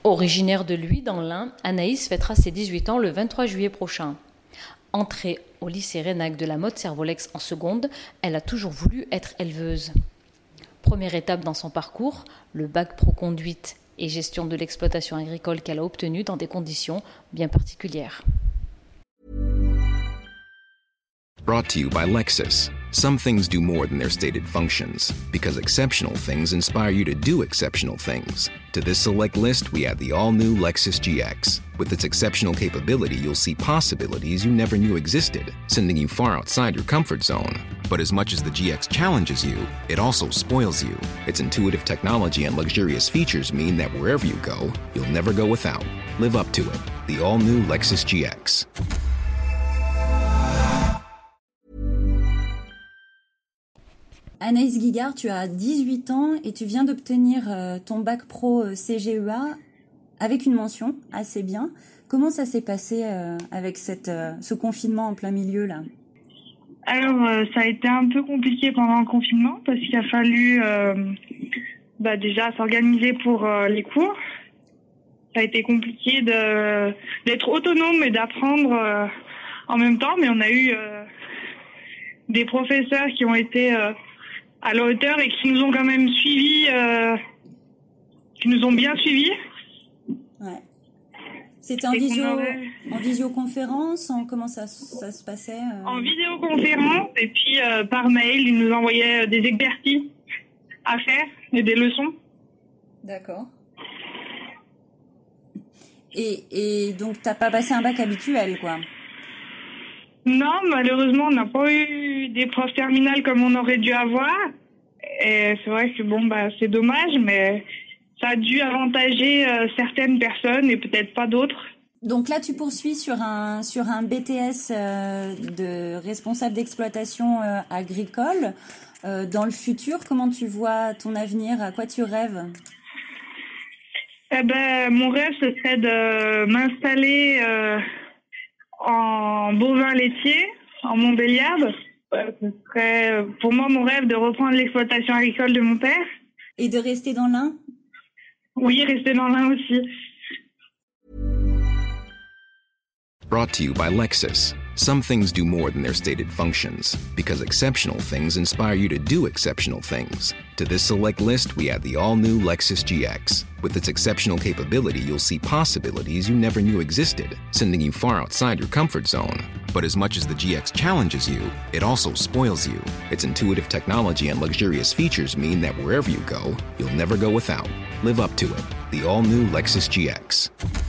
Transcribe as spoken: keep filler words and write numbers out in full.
Originaire de Luy dans l'Ain, Anaïs fêtera ses dix-huit ans le vingt-trois juillet prochain. Entrée au lycée Reynac de la Motte-Servolex en seconde, elle a toujours voulu être éleveuse. Première étape dans son parcours, le bac pro conduite et gestion de l'exploitation agricole qu'elle a obtenu dans des conditions bien particulières. Brought to you by Lexus. Some things do more than their stated functions, because exceptional things inspire you to do exceptional things. To this select list, we add the all-new Lexus G X. With its exceptional capability, you'll see possibilities you never knew existed, sending you far outside your comfort zone. But as much as the G X challenges you, it also spoils you. Its intuitive technology and luxurious features mean that wherever you go, you'll never go without. Live up to it. The all-new Lexus G X. Anaïs Guigard, tu as dix-huit ans et tu viens d'obtenir euh, ton bac pro euh, C G E A avec une mention assez bien. Comment ça s'est passé euh, avec cette, euh, ce confinement en plein milieu là ? Alors, euh, ça a été un peu compliqué pendant le confinement parce qu'il a fallu euh, bah, déjà s'organiser pour euh, les cours. Ça a été compliqué de d'être autonome et d'apprendre euh, en même temps, mais on a eu euh, des professeurs qui ont été euh, à la hauteur et qui nous ont quand même suivis, euh, qui nous ont bien suivis. Ouais. C'était en, visio, avait... en visioconférence, en, comment ça, ça se passait euh... En visioconférence et puis euh, par mail, ils nous envoyaient des exercices à faire et des leçons. D'accord. Et, et donc t'as pas passé un bac habituel, quoi? Non, malheureusement, on n'a pas eu des profs terminales comme on aurait dû avoir. Et c'est vrai que bon, bah, c'est dommage, mais ça a dû avantager euh, certaines personnes et peut-être pas d'autres. Donc là, tu poursuis sur un sur un B T S euh, de responsable d'exploitation euh, agricole. Euh, dans le futur, comment tu vois ton avenir? À quoi tu rêves? Eh ben, mon rêve, ce serait de m'installer euh, en bovin laitier, en Montbéliarde. Euh, ce serait pour moi mon rêve de reprendre l'exploitation agricole de mon père. Et de rester dans l'Ain? Oui, rester dans l'Ain aussi. Brought to you by Lexus. Some things do more than their stated functions, because exceptional things inspire you to do exceptional things. To this select list, we add the all-new Lexus G X. With its exceptional capability, you'll see possibilities you never knew existed, sending you far outside your comfort zone. But as much as the G X challenges you, it also spoils you. Its intuitive technology and luxurious features mean that wherever you go, you'll never go without. Live up to it. The all-new Lexus G X.